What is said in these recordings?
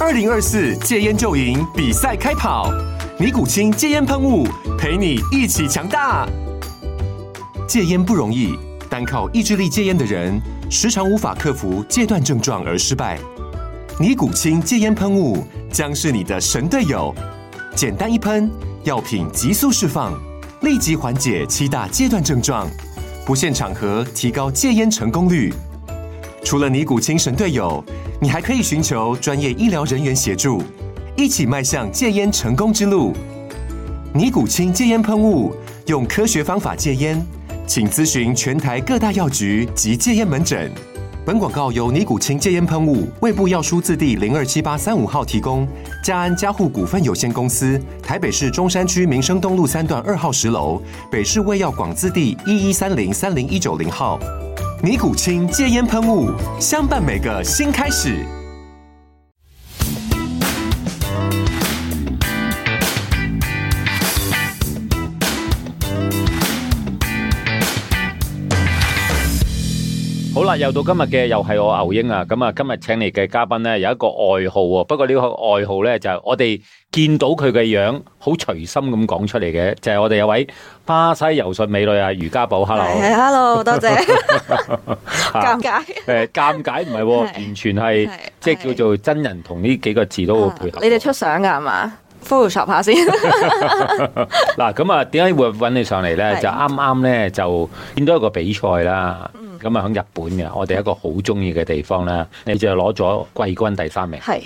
2024戒烟就赢比赛开跑，尼古清戒烟喷雾陪你一起强大。戒烟不容易，单靠意志力戒烟的人，时常无法克服戒断症状而失败。尼古清戒烟喷雾将是你的神队友，简单一喷，药品急速释放，立即缓解7大戒断症状，不限场合提高戒烟成功率。除了尼古清神队友，你还可以寻求专业医疗人员协助，一起迈向戒烟成功之路。尼古清戒烟喷雾，用科学方法戒烟，请咨询全台各大药局及戒烟门诊。本广告由尼古清戒烟喷雾、卫部药书字第027835号提供，嘉安嘉护股份有限公司，台北市中山区民生东路3段2号10楼，北市卫药广字第1130-30190号。尼古清戒烟喷雾，相伴每个新开始。 好啦，又到今日嘅又係我牛英啊！咁啊，今日請嚟嘅嘉賓咧有一個愛好喎，不過呢個愛好咧就係我哋見到佢嘅樣好隨心咁講出嚟嘅，就係我哋有位巴西柔術美女啊，余嘉寶 ，hello， 係 hello， 多謝。尷尬。 尷尬唔係喎，完全係即係叫做真人同呢幾個字都好配合。 你哋出相㗎係嘛？Photoshop 下先。 嗱，咁啊，點解會揾你上嚟咧？就啱啱咧就見到一個比賽啦。咁啊，喺日本嘅，我哋一個好中意嘅地方啦，你就攞咗季軍第3名。 係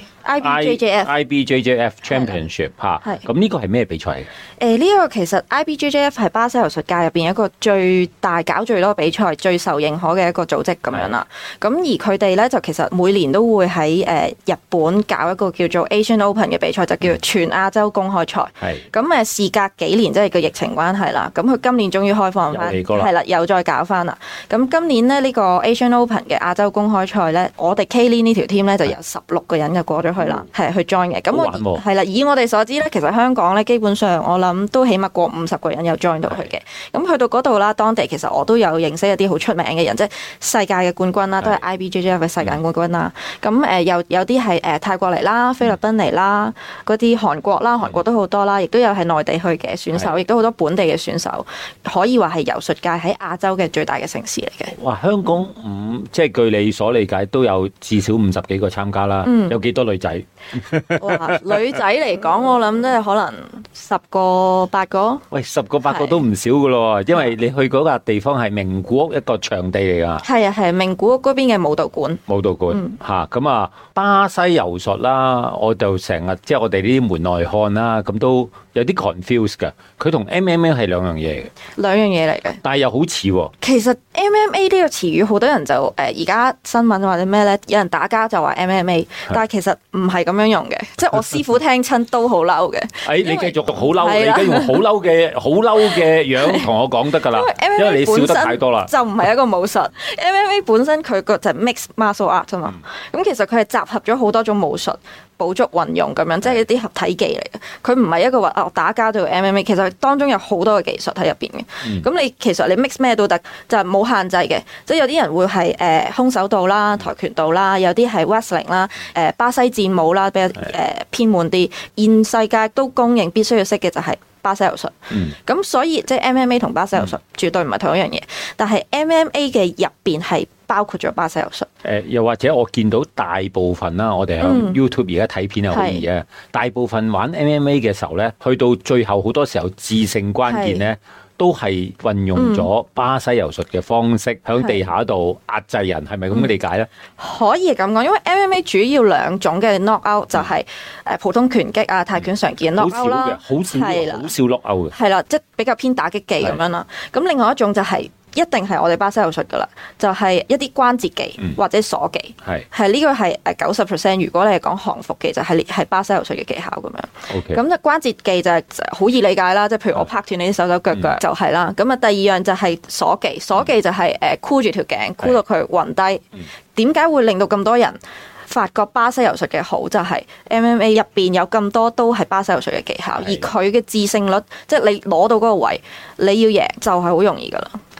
IBJJF Championship 嚇。咁呢個係咩比賽嘅？ 呢個其實 IBJJF 係巴西柔術界入邊一個最大搞最多比賽、最受認可嘅一個組織咁樣啦。咁而佢哋咧就其實每年都會喺日本搞一個叫做 Asian Open 嘅比賽，就叫全亞洲公開賽。係。咁事隔幾年，即係個疫情關係啦。咁佢今年終於開放翻，係啦，又再搞翻啦。咁今年呢個 Asian Open 嘅亞洲公開賽咧，我哋 K-Lean 呢條 team 咧就有16個人就過咗去啦，係去 join 嘅。咁我係啦，以我哋所知咧，其實香港咧基本上我諗都起碼過50個人有 join 到去嘅。咁去到嗰度啦，當地其實我都有認識一啲好出名嘅人，即係世界嘅冠軍啦，都係 IBJJF 嘅世界冠軍啦。咁有啲係泰國嚟啦、菲律賓嚟啦、嗰啲韓國啦，韓國都好多啦，亦都有係內地去嘅選手，亦都好多本地嘅選手，可以話係柔術界喺亞洲嘅最大嘅城市嚟嘅。 哇！香港即係據你所理解都有至少50幾個參加啦，有幾多女仔？ 哇！女仔嚟講，我諗都係可能10個8個。喂 ，10個8個都唔少噶咯，因為你去嗰個地方係名古屋一個場地嚟噶。係啊，係名古屋嗰邊嘅武道館。武道館嚇，咁啊，巴西柔術啦，我就成日即係我哋呢啲門外漢啦，咁都有啲 confuse 㗎。佢同 MMA 係兩樣嘢嘅。兩樣嘢嚟嘅。但係又好似喎。其實 MMA 呢個詞語好多人就而家新聞或者咩咧，有人打交就話 MMA， 但係其實唔係咁樣用嘅，即係我師傅聽親都好嬲嘅。你繼續好嬲，你而家用好嬲嘅樣同我講得㗎啦，因為你笑得太多啦。就唔係一個武術，MMA 本身佢個就係 mixed martial art 啊嘛。咁其實佢係集合咗好多種武術。補足運用咁樣，即係一啲合體技嚟嘅。佢唔係一個話打交就 MMA， 其實當中有好多嘅技術喺入邊嘅。咁你其實你 mix 咩都得，就係冇限制嘅。即係有啲人會係空手道啦、跆拳道啦，有啲係 wrestling 啦、巴西戰舞啦，比較偏門啲。現世界都公認必須要識嘅就係巴西柔術。咁所以即係 MMA 同巴西柔術絕對唔係同一樣嘢，但係 MMA 嘅入邊係包括咗巴西柔術。又或者我見到大部分啦，我哋喺 YouTube 而家睇片係好易嘅。大部分玩 MMA 嘅時候咧，去到最後好多時候致勝關鍵咧，都係運用咗巴西柔術嘅方式喺地下度壓制人，係咪咁嘅理解咧？可以咁講，因為 MMA 主要兩種嘅 knockout 就係普通拳擊啊、泰拳常見 knockout 啦，好少 knockout 嘅，係啦，即係比較偏打擊技咁樣啦。咁另外一種就係一定係我哋巴西柔術噶啦，就係一啲關節技或者鎖技，係呢個係90%。如果你係講降服技，就係巴西柔術嘅技巧咁樣。咁就關節技就係好易理解啦，即係譬如我拍斷你啲手手腳腳就係啦。咁啊第二樣就係鎖技，鎖技就係箍住條頸，箍到佢暈低。點解會令到咁多人發覺巴西柔術嘅好？就係 MMA 入邊有咁多都係巴西柔術嘅技巧，而佢嘅致勝率，即係你攞到嗰個位，你要贏就係好容易噶啦。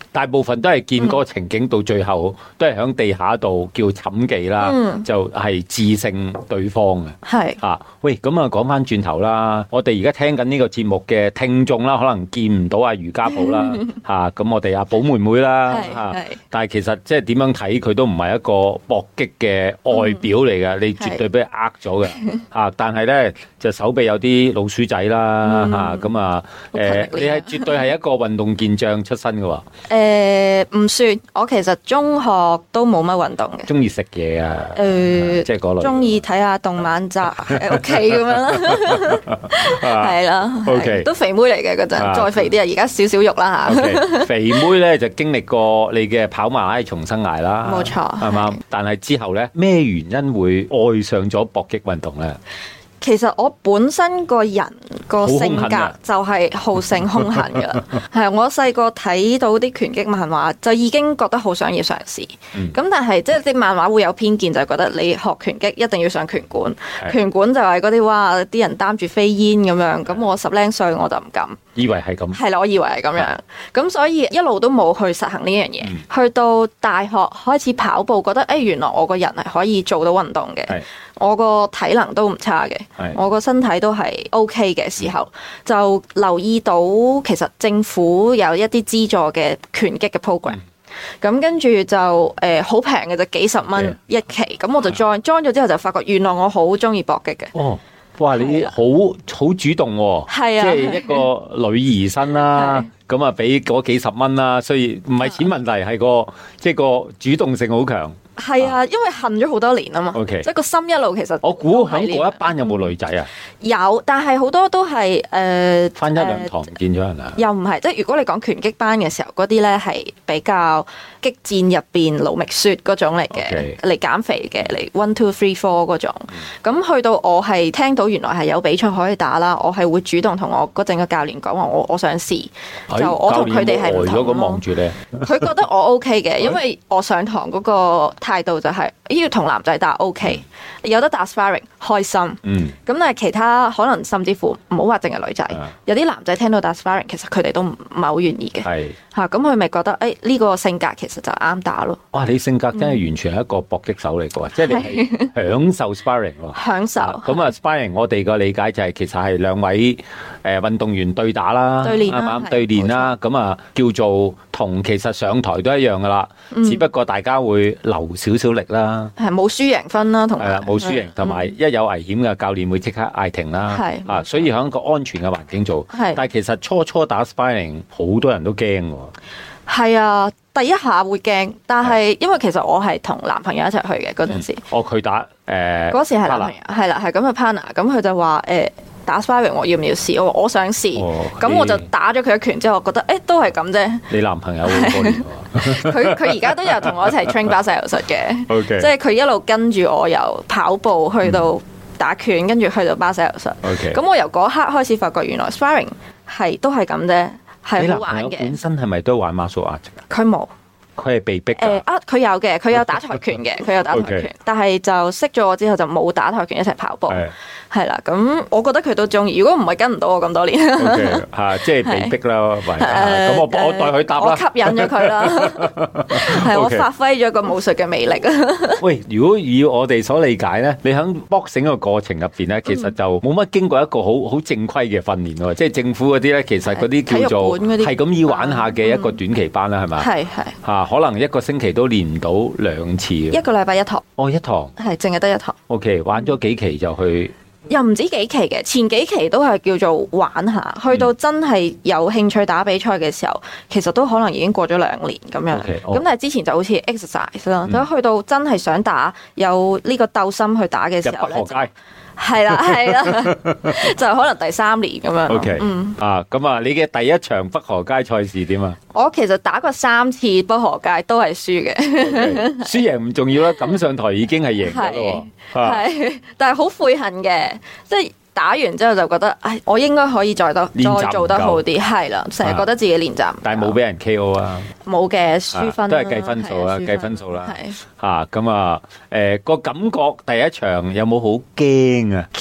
大部分都係見嗰個情景到最後都係喺地下度叫寢技啦，就係致勝對方嘅。係啊，喂，咁啊講翻轉頭啦，我哋而家聽緊呢個節目嘅聽眾啦，可能見唔到阿瑜伽寶啦，吓咁我哋阿寶妹妹啦，吓，但係其實即係點樣睇佢都唔係一個搏擊嘅外表嚟嘅，你絕對俾佢呃咗嘅，吓，但係咧就手臂有啲老鼠仔啦，吓咁啊，你係絕對係一個運動健將出身嘅喎。 唔算，我其實中學都冇乜運動嘅， 中意食嘢啊，即係嗰類， 中意睇下動漫集喺屋企咁樣啦，係啦，OK，都肥妹嚟嘅嗰陣，再肥啲啊，而家少少肉啦吓。 Okay, 肥妹咧就經歷過你嘅跑馬拉松生涯啦， 冇錯， 係嘛？但係之後咧，咩原因會愛上咗搏擊運動咧？ 其實我本身個人個性格就係好勝兇狠㗎，係我細個睇到啲拳擊漫畫就已經覺得好想要嘗試。咁但係即係啲漫畫會有偏見，就係覺得你學拳擊一定要上拳館，拳館就係嗰啲哇啲人擔住飛煙咁樣。咁我10零歲我就唔敢， 以為係咁， 係啦，我以為係咁樣。咁所以一路都冇去實行呢樣嘢。去到大學開始跑步，覺得原來我個人係可以做到運動嘅。我個體能都唔差嘅，我個身體都係 OK 嘅時候，就留意到其實政府有一啲資助嘅拳擊嘅 program，咁跟住就好平嘅，就幾十蚊一期，咁我就 join 咗之後就發覺原來我好中意搏擊嘅。哦， 哇！你好主動喎，係啊，即係一個女兒身啦，咁啊俾嗰幾十蚊啦，所以唔係錢問題，係個即係個主動性好強。 係啊，因為恨咗好多年啊嘛，即係個心一路其實。 我估喺嗰一班有冇女仔啊？ 有，但係好多都係返一兩堂唔見咗人啊？ 又唔係，即係如果你講拳擊班嘅時候，嗰啲咧係比較激戰入邊勞覓雪嗰種嚟嘅，嚟減肥嘅，嚟 1, 2, 3, 4嗰種。咁去到我係聽到原來係有比賽可以打啦，我係會主動同我嗰陣嘅教練講話，我想試。就我同佢哋係唔同咯。咁望住你，佢覺得我 OK 嘅，因為我上堂嗰個態度就係要同男仔打 OK，有得打 sparring 開心。咁但係其他可能甚至乎唔好話淨係女仔，有啲男仔聽到打 sparring，其實佢哋都唔係好願意嘅。嚇，咁佢咪覺得呢個性格其實就啱打咯。哇！ 你性格真係完全係一個搏擊手嚟嘅喎，即係你係享受 sparring 喎。 享受。咁啊 sparring 我哋個理解就係其實係兩位運動員對打啦，啱啱對練啦，咁啊叫做同其實上台都一樣噶啦，只不過大家會留少少力啦， 係冇輸贏分啦，同埋係啦冇輸贏，同埋一有危險嘅教練會即刻嗌停啦，所以喺一個安全嘅環境做。但係其實初打 sparring 好多人都驚喎。 係啊，第一下會驚，但係因為其實我係同男朋友一齊去嘅嗰陣時。 佢打嗰時係男朋友，係啦，係咁嘅 partner，咁佢就話打 sparring 我要唔要試？我想試，咁我就打咗佢一拳之後，我覺得都係咁啫。 你男朋友好過年喎， 佢而家都有同我一齊 train 巴西柔術嘅，即係佢一路跟住我由跑步去到打拳，跟住去到巴西柔術。咁我由嗰刻開始發覺，原來 sparring 都係咁啫，係好玩嘅。 本身係咪都玩 martial art？ 佢冇。 佢係被逼佢有嘅，佢有打跆拳嘅，佢有打跆拳，但係就識咗我之後就冇打跆拳一齊跑步，係啦。咁我覺得佢都中意。如果唔係跟唔到我咁多年， 即係被逼啦。咁我代佢答啦。 我吸引咗佢啦，係我發揮咗個武術嘅魅力。 喂，如果以我哋所理解咧，你喺 boxing 個過程入邊咧，其實就冇乜經過一個好正規嘅訓練喎。即係政府嗰啲咧，其實嗰啲叫做係咁意玩下嘅一個短期班啦，係咪？係可能一個星期都練唔到2次， 一個禮拜一堂。 一堂係淨係得一堂。 OK， 玩咗幾期就去？ 又唔止幾期嘅，前幾期都係叫做玩下，去到真係有興趣打比賽嘅時候，其實都可能已經過咗2年咁樣。咁但係之前就好似 exercise 啦，咁去到真係想打，有呢個鬥心去打嘅時候咧。係啦，就可能第3年咁樣。 OK，咁啊，你嘅第一場北河街賽事點啊？ 我其實打過3次北河街，都係輸嘅。 輸贏唔重要啦，咁上台已經係贏咗咯。 係，但係好悔恨嘅，即係打完之後就覺得，我應該可以再做得好啲。係啦，成日覺得自己練習， 但係冇俾人 KO 啊。 冇嘅，輸分都係計分數啦，計分數啦。咁啊，個感覺第一場有冇好驚啊？ 驚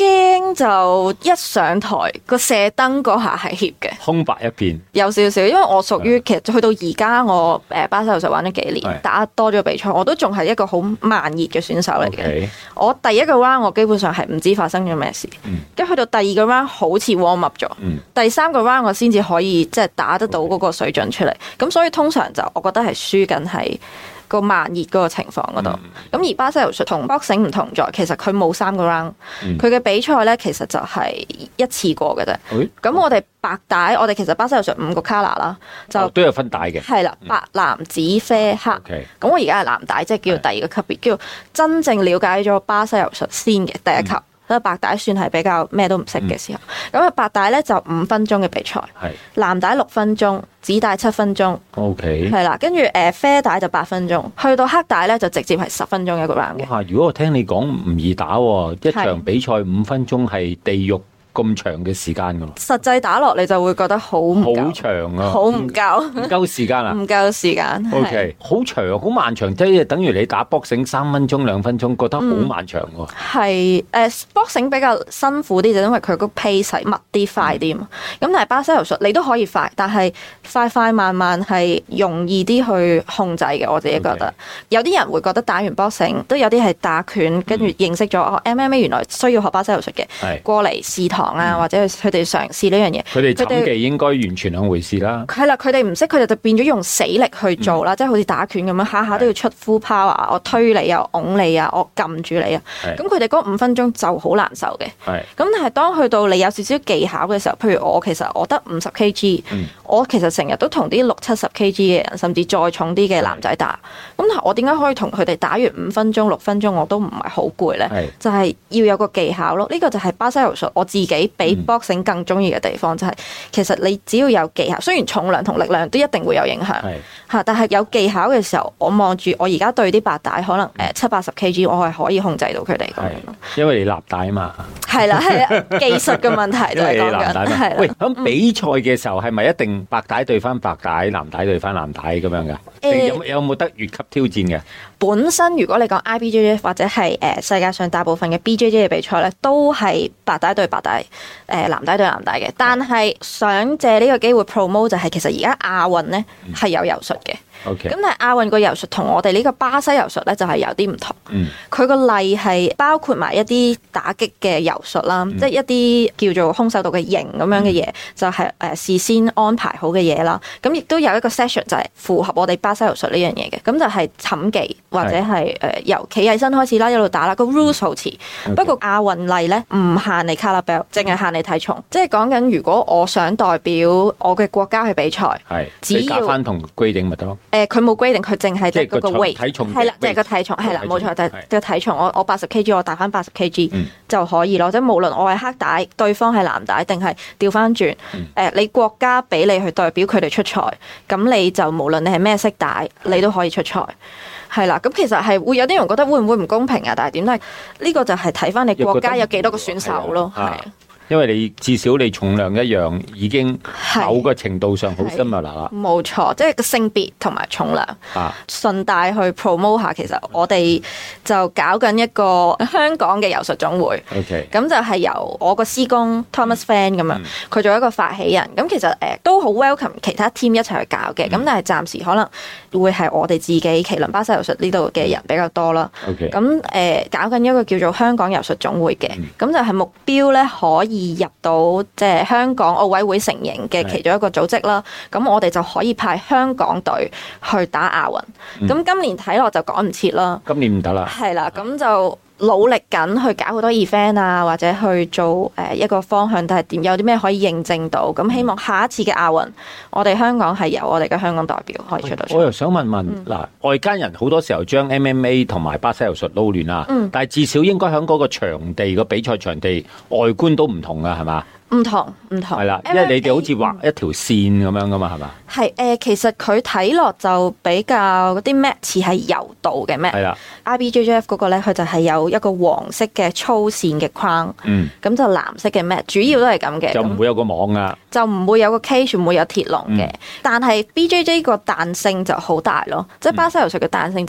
星就一上台個射燈嗰下係怯嘅， 空白一片， 有少少，因為我屬於其實去到而家我巴西柔術玩咗幾年，打多咗比賽，我都仲係一個好慢熱嘅選手嚟嘅。我第一個 round 我基本上係唔知發生咗咩事，跟住去到第二個 round 好似 warm up 咗，第三個 round 我先至可以即係打得到嗰個水準出嚟。咁所以通常就我覺得係輸緊係個慢熱嗰個情況嗰度。咁而巴西柔術同 boxing 唔同在，其實佢冇3個 round，佢嘅比賽咧其實就係一次過嘅啫。咁我哋白帶，我哋其實巴西柔術5個 color 啦，就都有分帶嘅。係啦，白、藍、紫、啡、黑。咁我而家係藍帶，即係叫第2個級別，叫真正了解咗巴西柔術先嘅第1級。所以白帶算係比較咩都唔識嘅時候，咁啊白帶咧就5分鐘嘅比賽，藍帶6分鐘，紫帶7分鐘，OK，係啦，跟住啡帶就8分鐘，去到黑帶咧就直接係10分鐘一個 round 嘅。哇！ 如果我聽你講唔易打喎，一場比賽5分鐘係地獄咁長嘅時間噶咯， 實際打落你就會覺得好長啊， 好唔夠， 唔夠時間啊， 唔夠時間。 OK， 好長，好漫長，即係等於你打 boxing 3分鐘、2分鐘，覺得好漫長喎。 係boxing 比較辛苦啲，就因為佢個 pace 密啲、快啲嘛。咁但係巴西柔術你都可以快，但係快慢慢係容易啲去控制嘅。我自己覺得，有啲人會覺得打完 boxing 都有啲係打拳，跟住認識咗MMA 原來需要學巴西柔術嘅，過嚟試堂。或者佢哋嘗試呢樣嘢， 佢哋沉技應該完全兩回事啦。 係啦，佢哋唔識，佢哋就變咗用死力去做啦，即係好似打拳咁樣，下下都要出 full power，我推你啊，拱你啊，我撳住你啊。咁佢哋嗰5分鐘就好難受嘅。咁但係當去到你有少少技巧嘅時候，譬如我其實我得50 kg，我其實成日都同啲60-70 kg 嘅人，甚至再重啲嘅男仔打。咁我點解可以同佢哋打完5分鐘、6分鐘我都唔係好攰咧？就係要有個技巧咯。呢個就係巴西柔術我自己比 boxing 更中意嘅地方，就係其實你只要有技巧，雖然重量同力量都一定會有影響嚇，但係有技巧嘅時候，我望住我而家對啲白帶可能70-80 kg，我係可以控制到佢哋咁樣。 因為你立帶啊嘛，係啦，技術嘅問題就係講緊。 喂，咁比賽嘅時候係咪一定白帶對翻白帶，藍帶對翻藍帶咁樣㗎？有冇得越級挑戰嘅？ 本身如果你講 IBJJF 或者係世界上大部分嘅 BJJ 嘅比賽咧，都係白帶對白帶，藍帶對藍帶嘅。但係想借呢個機會 promote 就係其實而家亞運咧係有柔術嘅。咁但係亞運個柔術同我哋呢個巴西柔術咧就係有啲唔同。佢個例係包括埋一啲打擊嘅柔術啦，即係一啲叫做空手道嘅型咁樣嘅嘢，就係事先安排好嘅嘢啦。咁亦都有一個 session 就係符合我哋巴西柔術呢樣嘢嘅。咁就係寢技或者係由企起身開始啦，一路打啦。個 rules 好似，不過亞運例咧唔限你 color belt，淨係限你體重。即係講緊如果我想代表我嘅國家去比賽，只要加翻同規定咪得咯。佢冇規定，佢淨係得嗰個 weight， 體重係啦，即係個體重係啦，冇錯，就係個體重。我80 kg，我打翻80 kg 就可以咯。即係無論我係黑帶，對方係藍帶，定係調翻轉，你國家俾你去代表佢哋出賽，咁你就無論你係咩色帶，你都可以出賽。係啦，咁其實係會有啲人覺得會唔會唔公平啊？但係點都係呢個就係睇翻你國家有幾多個選手咯，係。 因為你至少你重量一樣，已經某個程度上好 similar 啦。冇錯，即係個性別同埋重量。順帶去 promote 下，其實我哋就搞緊一個香港嘅柔術總會。咁就係由我個師公 Thomas Fan 咁樣，佢做一個發起人。咁其實都好 welcome 其他 team 一齊去搞嘅。咁但係暫時可能會係我哋自己麒麟巴西柔術呢度嘅人比較多啦。咁搞緊一個叫做香港柔術總會嘅，咁就係目標咧可以入到即係香港奧委會承認嘅其中一個組織啦，咁我哋就可以派香港隊去打亞運。咁今年睇落就趕唔切啦。 今年唔得啦。 係啦，咁就努力緊去搞好多 event 啊，或者去做一個方向，但係點有啲咩可以認證到？咁希望下一次嘅亞運，我哋香港係由我哋嘅香港代表可以出到。 我又想問嗱，外間人好多時候將 MMA 同埋巴西柔術撈亂啊，但係至少應該喺嗰個場地個比賽場地外觀都唔同啊，係嘛？ 唔同。係啦，因為你哋好似畫一條線咁樣噶嘛，係嘛？ 係其實佢睇落就比較嗰啲 mat 似係柔道嘅 mat。係啦 ，IBJJF 嗰個咧，佢就係有一個黃色嘅粗線嘅框，咁就藍色嘅 mat，主要都係咁嘅。 就唔會有個網啊？ 就唔會有個 cage，唔會有鐵籠嘅。但係 BJJ 個彈性就好大咯，即係巴西柔術嘅彈性就係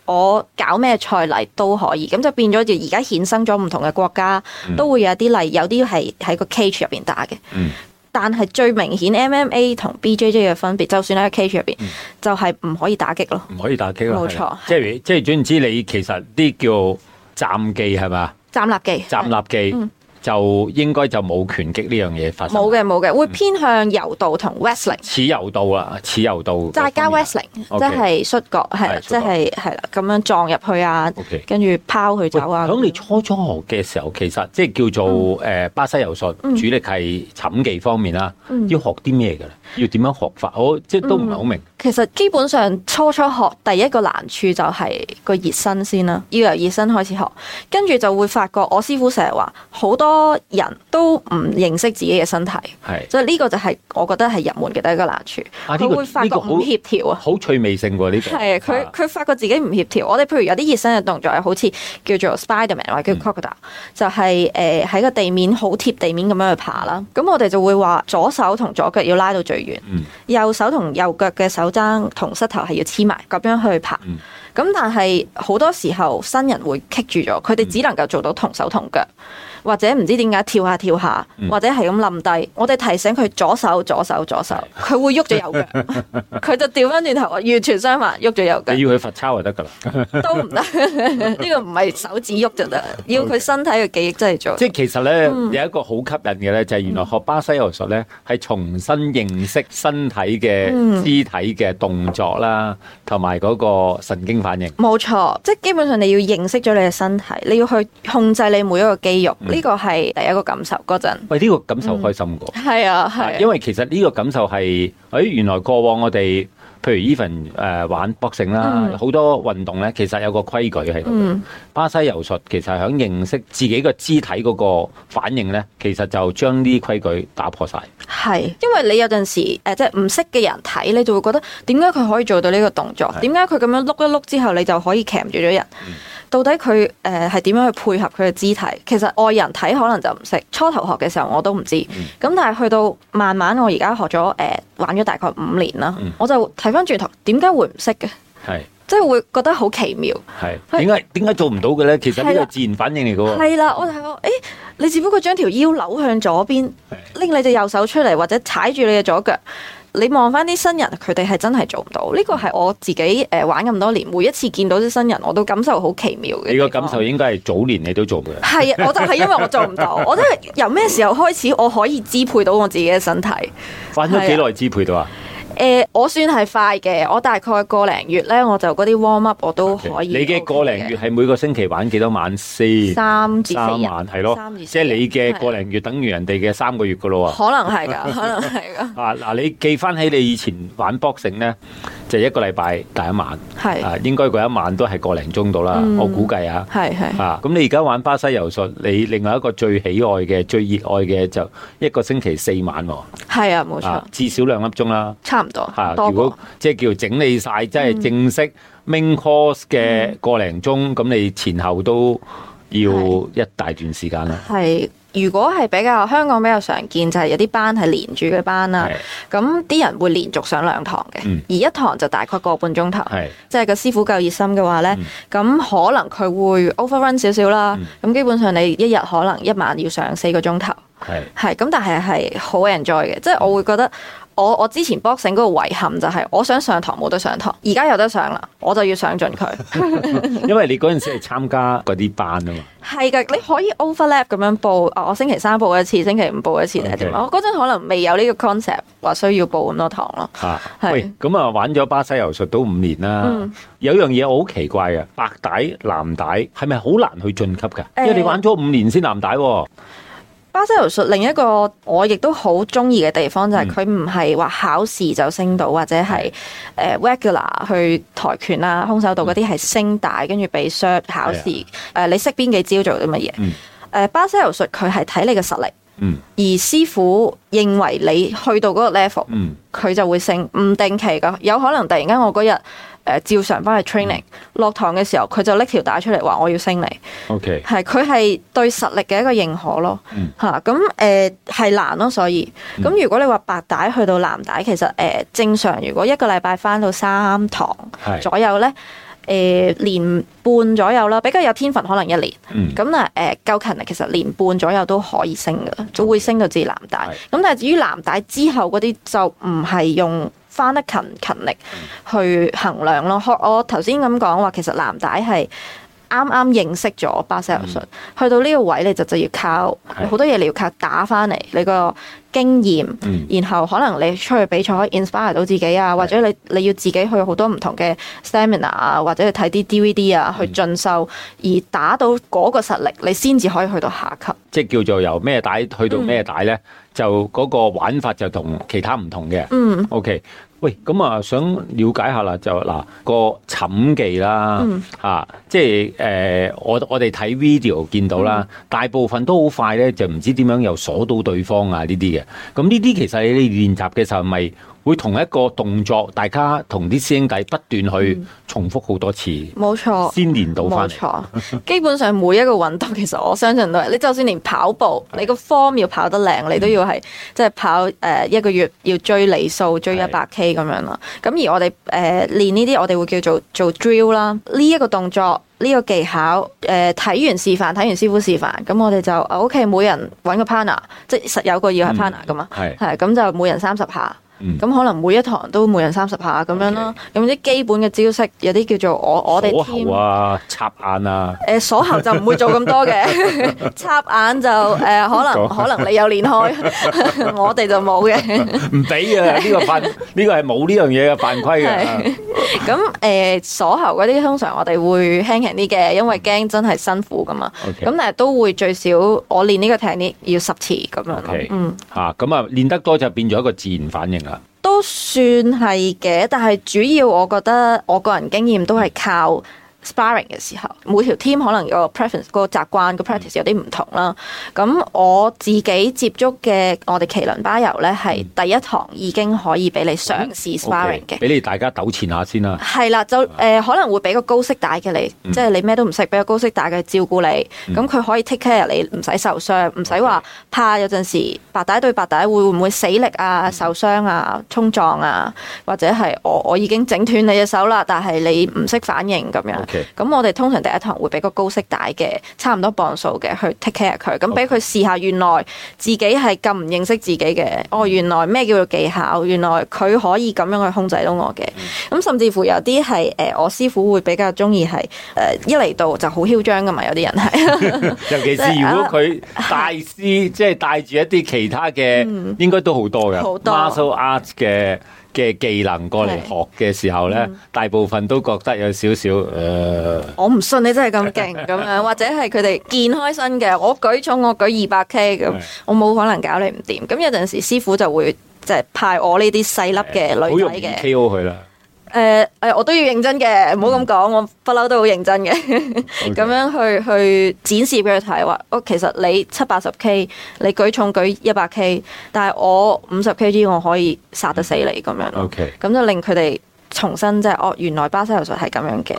我搞咩賽例都可以，咁就變咗就而家衍生咗唔同嘅國家都會有啲例，有啲係喺個 cage 入邊打嘅。但係最明顯 MMA 同 BJJ 嘅分別，就算喺個 cage 入邊，就係唔可以打擊咯。 唔可以打擊咯， 冇錯。 即係總言之，你其實啲叫暫技係嘛？ 站立技。站立技。 就應該就冇拳擊呢樣嘢發生。 冇嘅，會偏向柔道同 wrestling。 似柔道啦，似柔道。 再加 wrestling， 即係摔角，係即係啦，咁樣撞入去啊，跟住拋佢走啊。 咁你初學嘅時候，其實即係叫做巴西柔術，主力係寢技方面啦，要學啲咩嘅咧？要點樣學法？我即係都唔係好明。 其實基本上初學第一個難處就係個熱身先啦，要由熱身開始學，跟住就會發覺我師傅成日話好多人都唔認識自己嘅身體，所以呢個就係我覺得係入門嘅第一個難處。佢會發覺唔協調啊， 好趣味性喎呢個。 係佢發覺自己唔協調。我哋譬如有啲熱身嘅動作係好似叫做 Spiderman 或者叫 Crocodile，就係喺個地面好貼地面咁樣去爬啦。咁我哋就會話左手同左腳要拉到最遠，右手同右腳嘅手踭同膝頭係要黐埋，咁樣去爬。咁但係好多時候新人會棘住咗，佢哋只能夠做到同手同腳，或者唔知點解跳下，或者係咁冧低。我哋提醒佢左手，佢會喐咗右腳，佢就調翻轉頭，完全相反，喐咗右腳。 你要佢罰抄就得噶啦， 都唔得。呢個唔係手指喐就得，要佢身體嘅記憶真係做。 即係其實咧有一個好吸引嘅咧，就係原來學巴西柔術咧係重新認識身體嘅肢體嘅動作啦，同埋嗰個神經反應。 冇錯，即係基本上你要認識咗你嘅身體，你要去控制你每一個肌肉，呢個係第一個感受嗰陣。 喂，呢個感受開心過。 係啊， 因為其實呢個感受係，原來過往我哋譬如 even 玩 boxing 啦，好多運動咧，其實有個規矩喺度。巴西柔術其實係響認識自己個肢體嗰個反應咧，其實就將呢啲規矩打破晒。 係，因為你有陣時即係唔識嘅人睇，你就會覺得點解佢可以做到呢個動作？點解佢咁樣碌一碌之後，你就可以鉗住咗人？到底佢係點樣去配合佢嘅肢體？其實外人睇可能就唔識，初頭學嘅時候我都唔知。咁但係去到慢慢，我而家學咗玩咗大概5年啦，我就睇翻轉頭，點解會唔識嘅？係，即係會覺得好奇妙。係，點解做唔到嘅咧？其實呢個自然反應嚟嘅喎。係啦，我就係你只不過將條腰扭向左邊，拎你隻右手出嚟，或者踩住你嘅左腳。你望翻啲新人，佢哋係真係做唔到。呢個係我自己玩咁多年，每一次見到啲新人，我都感受好奇妙嘅。你個感受應該係早年你都做嘅。係啊，我就係因為我做唔到，我都係由咩時候開始我可以支配到我自己嘅身體？玩咗幾耐支配到啊？我算係快嘅，我大概個零月咧，我就嗰啲 warm up 我都可以。你嘅個零月係每個星期玩幾多晚先？3至4晚係咯，即係你嘅個零月等於人哋嘅3個月噶咯喎。可能係㗎，可能係㗎。嗱，你記翻起你以前玩 boxing 咧，就1個禮拜第一晚，係應該嗰一晚都係個零鐘到啦，我估計啊。係。咁你而家玩巴西柔術，你另外一個最喜愛嘅、最熱愛嘅就1個星期4晚喎。係啊，冇錯。至少2粒鐘啦。如果即係叫整理晒，即係正式 main course 嘅個零鐘，咁你前後都要一大段時間啦。係，如果係比較香港比較常見，就係有啲班係連住嘅班啦。咁啲人會連續上2堂嘅，而一堂就大概個半鐘頭。即係個師傅夠熱心嘅話咧，咁可能佢會 overrun 少少啦。咁基本上你一日可能一晚要上4個鐘頭。係咁，但係好 enjoy 嘅，即係我會覺得。我之前 boxing 嗰個遺憾就係我想上堂冇得上堂，而家有得上啦，我就要上盡佢。因為你嗰陣時係參加嗰啲班啊嘛。係㗎，你可以 overlap 咁樣報，我星期3報一次，星期5報一次定係點啊？我嗰陣可能未有呢個 concept 話需要報咁多堂咯。喂，咁啊玩咗巴西柔術都5年啦，有樣嘢我好奇怪嘅，白帶、藍帶係咪好難去晉級㗎？因為你玩咗5年先藍帶喎。巴西柔術另一個我亦都好中意嘅地方就係佢唔係話考試就升到，或者係regular 去跆拳啦、空手道嗰啲係升帶跟住俾 cert 考試。你識邊幾招做啲乜嘢？巴西柔術佢係睇你嘅實力，而師傅認為你去到嗰個 level，佢就會升，唔定期㗎，有可能突然間我嗰日。照常翻去 training，落堂嘅時候佢就拎條帶出嚟話我要升你。OK， 係佢係對實力嘅一個認可咯。咁係難咯，所以咁如果你話白帶去到藍帶，其實正常如果1個禮拜翻到3堂左右咧， 年半左右啦，比較有天分可能1年。咁夠勤力，其實年半左右都可以升噶，都會升到至藍帶。咁但係至於藍帶之後嗰啲就唔係用返得勤力去衡量咯。我頭先咁講話，其實藍帶係啱啱認識咗巴西柔術，去到呢個位你就要靠好多嘢，你要靠打返嚟你個經驗，然後可能你出去比賽可以 inspire 到自己啊，或者你要自己去好多唔同嘅 seminar 啊，或者去睇啲 DVD 啊，去進修，而打到嗰個實力，你先至可以去到下級。 即係叫做由咩帶去到咩帶咧，就嗰個玩法就同其他唔同嘅。OK。喂，咁啊，想了解下啦，就嗱個寢技啦，即係我哋睇 video 見到啦，大部分都好快咧，就唔知點樣又鎖到對方啊呢啲嘅。咁呢啲其實你練習嘅時候咪會同一個動作，大家同啲師兄弟不斷去重複好多次， 冇錯， 先練到翻嚟。 冇錯，基本上每一個運動，其實我相信都係，你就算連跑步，你個 form 要跑得靚，你都要係即係跑1個月要追里數，追100K 咁樣啦。咁而我哋練呢啲，我哋會叫做 drill 啦。呢一個動作，呢個技巧，睇完示範，睇完師傅示範，咁我哋就 OK， 每人揾個 partner， 即係實有個要係 partner 噶嘛，係咁就每人30下。咁可能每一堂都每人30下咁樣咯。咁啲基本嘅招式有啲叫做我哋鎖喉啊、插眼啊。 鎖喉就唔會做咁多嘅，插眼就可能你有練開，我哋就冇嘅。 唔俾啊！呢個係冇呢樣嘢嘅犯規嘅。 咁鎖喉嗰啲通常我哋會輕輕啲嘅，因為驚真係辛苦噶嘛。咁但係都會最少我練呢個 technique 要10次咁樣咯。 咁啊練得多就變咗一個自然反應。 都算係嘅，但係主要我覺得我個人經驗都係靠 sparring 嘅時候，每條 team 可能個 preference 個習慣個 practice 有啲唔同啦。咁我自己接觸嘅我哋麒麟巴柔咧，係第一堂已經可以俾你嘗試 sparring 嘅， 俾你大家糾纏下先啦。 係啦，就可能會俾個高息帶嘅你，即係你咩都唔識，俾個高息帶嘅照顧你，咁佢可以 take care 你，唔使受傷，唔使話怕有陣時白帶對白帶會唔會死力啊、受傷啊、衝撞啊，或者係我已經整斷你隻手啦，但係你唔識反應咁樣。咁我哋通常第一堂會俾個高息帶嘅，差唔多磅數嘅去 take care 佢，咁俾佢試下原來自己係咁唔認識自己嘅。原來咩叫做技巧，原來佢可以咁樣去控制到我嘅。咁甚至乎有啲係我師傅會比較中意係一嚟到就好囂張噶嘛，有啲人係尤其是如果佢帶師即係帶住一啲其他嘅，應該都好多嘅 martial arts 嘅技能過嚟學嘅時候咧，大部分都覺得有少少我唔信你真係咁勁咁樣，或者係佢哋健開身嘅，我舉重我舉200K 咁，我冇可能搞你唔掂。咁有陣時師傅就會即係派我呢啲細粒嘅女仔嘅 KO 佢啦。 我都要認真嘅，唔好咁講，我不嬲都好認真嘅，咁樣去展示俾佢睇，話其實你70-80K，你舉重舉100K，但係我50kg 我可以殺得死你咁樣，咁就令佢哋重新即係原來巴西柔術係咁樣嘅。 個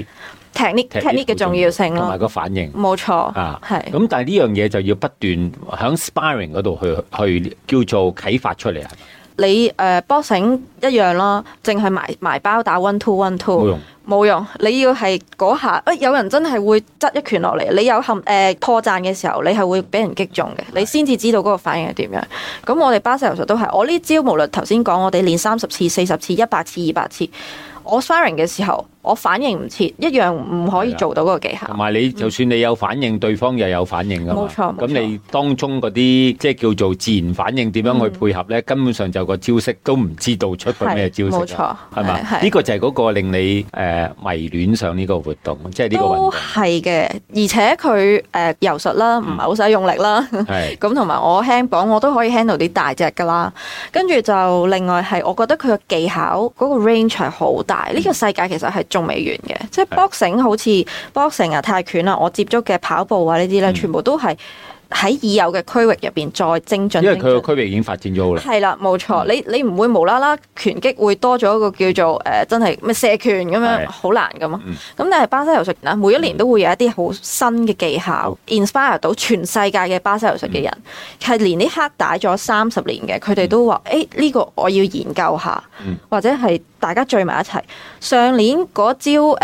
technique 嘅重要性咯，同埋個反應。 冇錯， 係。咁但係呢樣嘢就要不斷喺 sparring 嗰度去叫做啟發出嚟啊。 你boxing 一樣咯，淨係埋包打 1-2 1-2冇用。你要係嗰下，有人真係會執一拳落嚟，你有破綻嘅時候，你係會俾人擊中嘅，你先至知道嗰個反應係點樣。咁我哋巴西柔術都係，我呢招無論頭先講，我哋練30次、40次、100次、200次，我 sparring 嘅時候，我反應唔切，一樣唔可以做到嗰個技巧。 同埋你就算你有反應，對方又有反應㗎嘛。 冇錯。 咁你當中嗰啲即係叫做自然反應點樣去配合咧？根本上就個招式都唔知道出個咩招式。 冇錯。 係嘛？呢個就係嗰個令你迷戀上呢個活動，即係呢個運動。都係嘅，而且佢柔術啦，唔係好使用力啦。係。咁同埋我輕磅，我都可以 handle 啲大隻㗎啦。跟住就另外係，我覺得佢嘅技巧嗰個 range 係好大。呢個世界其實係仲未完嘅，即係 boxing 好似 boxing 啊、泰拳啊，我接觸嘅跑步啊呢啲咧，全部都係喺已有嘅區域入邊再精進。 因為佢個區域已經發展咗好啦。 係啦，冇錯。你唔會無啦啦拳擊會多咗一個叫做真係咩射拳咁樣，好難噶嘛。咁但係巴西柔術啊，每一年都會有一啲好新嘅技巧 inspire 到全世界嘅巴西柔術嘅人，係連啲黑帶咗30年嘅，佢哋都話呢個我要研究下，或者係大家聚埋一齊。上年嗰招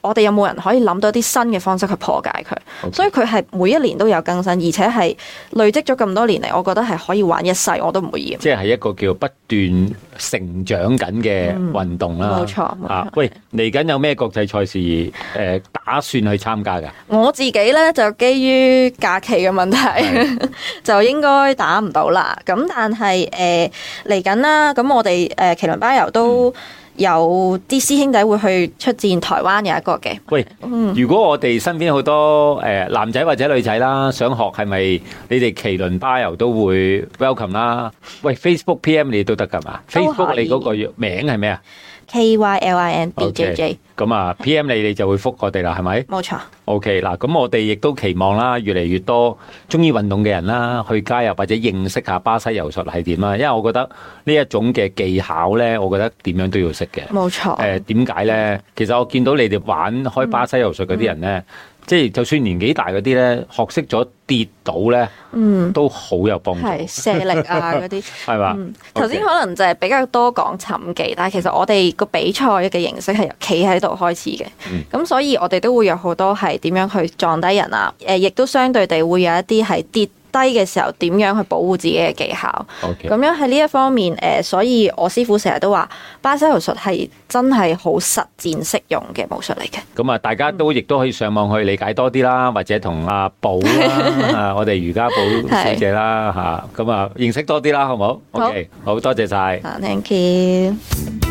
我哋有冇人可以諗到啲新嘅方式去破解佢。Okay. 所以佢係每一年都有更新，而且係累積咗咁多年嚟，我覺得係可以玩一世，我都唔會厭。 即係一個叫不斷成長緊嘅運動啦。 冇錯。 喂，嚟緊有咩國際賽事打算去參加㗎？ 我自己咧就基於假期嘅問題，就應該打唔到啦。咁但係嚟緊啦，咁我哋麒麟巴柔都有啲師兄弟會去出戰台灣有一個嘅。 喂，如果我哋身邊好多男仔或者女仔啦，想學係咪你哋麒麟巴柔都會 welcome 啦？喂 ，Facebook PM 你都得㗎嘛？Facebook 你嗰個名係咩啊 ？KYLINBJJ。 咁啊 PM 你就會覆我哋啦，係咪？ 冇錯。 OK 嗱，咁我哋亦都期望啦，越嚟越多中意運動嘅人啦，去加入或者認識下巴西柔術係點啦。因為我覺得呢一種嘅技巧咧，我覺得點樣都要識嘅。 冇錯。 點解咧？其實我見到你哋玩開巴西柔術嗰啲人咧，即係就算年紀大嗰啲咧，學識咗跌倒咧，都好有幫助。 係射力啊嗰啲， 係嘛？ 頭先可能就係比較多講尋技，但係其實我哋個比賽嘅形式係由企喺度開始嘅。咁所以我哋都會有好多係點樣去撞低人啊，亦都相對地會有一啲係跌低嘅時候點樣去保護自己嘅技巧。咁樣喺呢一方面，所以我師傅成日都話巴西柔術係真係好實戰適用嘅武術嚟嘅。 咁啊，大家都亦都可以上網去理解多啲啦，或者同阿寶啦，我哋瑜伽寶小姐啦嚇，咁啊認識多啲啦，好唔好？OK，好多謝晒。 Thank you。